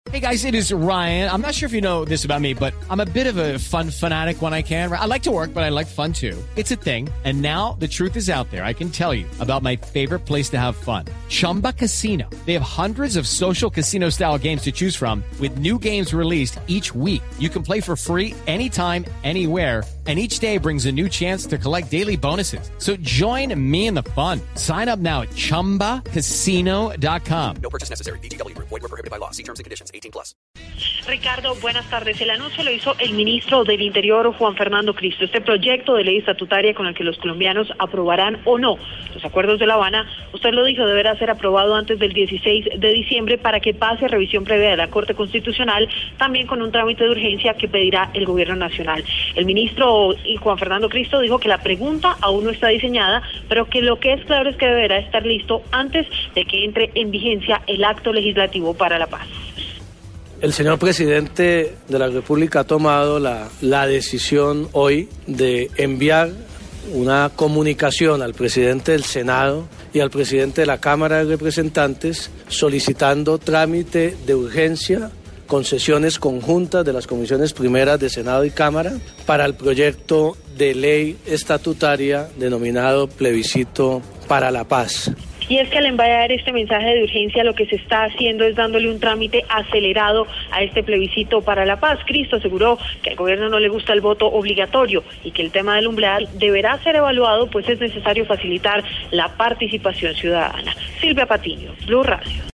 Hey guys, it is Ryan. I'm not sure if you know this about me, but I'm a bit of a fun fanatic when I can. I like to work, but I like fun too. It's a thing. And now the truth is out there. I can tell you about my favorite place to have fun. Chumba Casino. They have hundreds of social casino style games to choose from with new games released each week. You can play for free anytime, anywhere. And each day brings a new chance to collect daily bonuses. So join me in the fun. Sign up now at ChumbaCasino.com. No purchase necessary. VGW Group. Void where prohibited by law. See terms and conditions. 18+. Ricardo, buenas tardes. El anuncio lo hizo el ministro del Interior, Juan Fernando Cristo. Este proyecto de ley estatutaria con el que los colombianos aprobarán o no los acuerdos de La Habana, usted lo dijo, deberá ser aprobado antes del 16 de diciembre para que pase a revisión previa de la Corte Constitucional, también con un trámite de urgencia que pedirá el Gobierno Nacional. El ministro Juan Fernando Cristo dijo que la pregunta aún no está diseñada, pero que lo que es claro es que deberá estar listo antes de que entre en vigencia el acto legislativo para la paz. El señor presidente de la República ha tomado la decisión hoy de enviar una comunicación al presidente del Senado y al presidente de la Cámara de Representantes solicitando trámite de urgencia con sesiones conjuntas de las comisiones primeras de Senado y Cámara para el proyecto de ley estatutaria denominado Plebiscito para la Paz. Y es que al enviar este mensaje de urgencia lo que se está haciendo es dándole un trámite acelerado a este plebiscito para la paz. Cristo aseguró que al gobierno no le gusta el voto obligatorio y que el tema del umbral deberá ser evaluado, pues es necesario facilitar la participación ciudadana. Silvia Patiño, Blue Radio.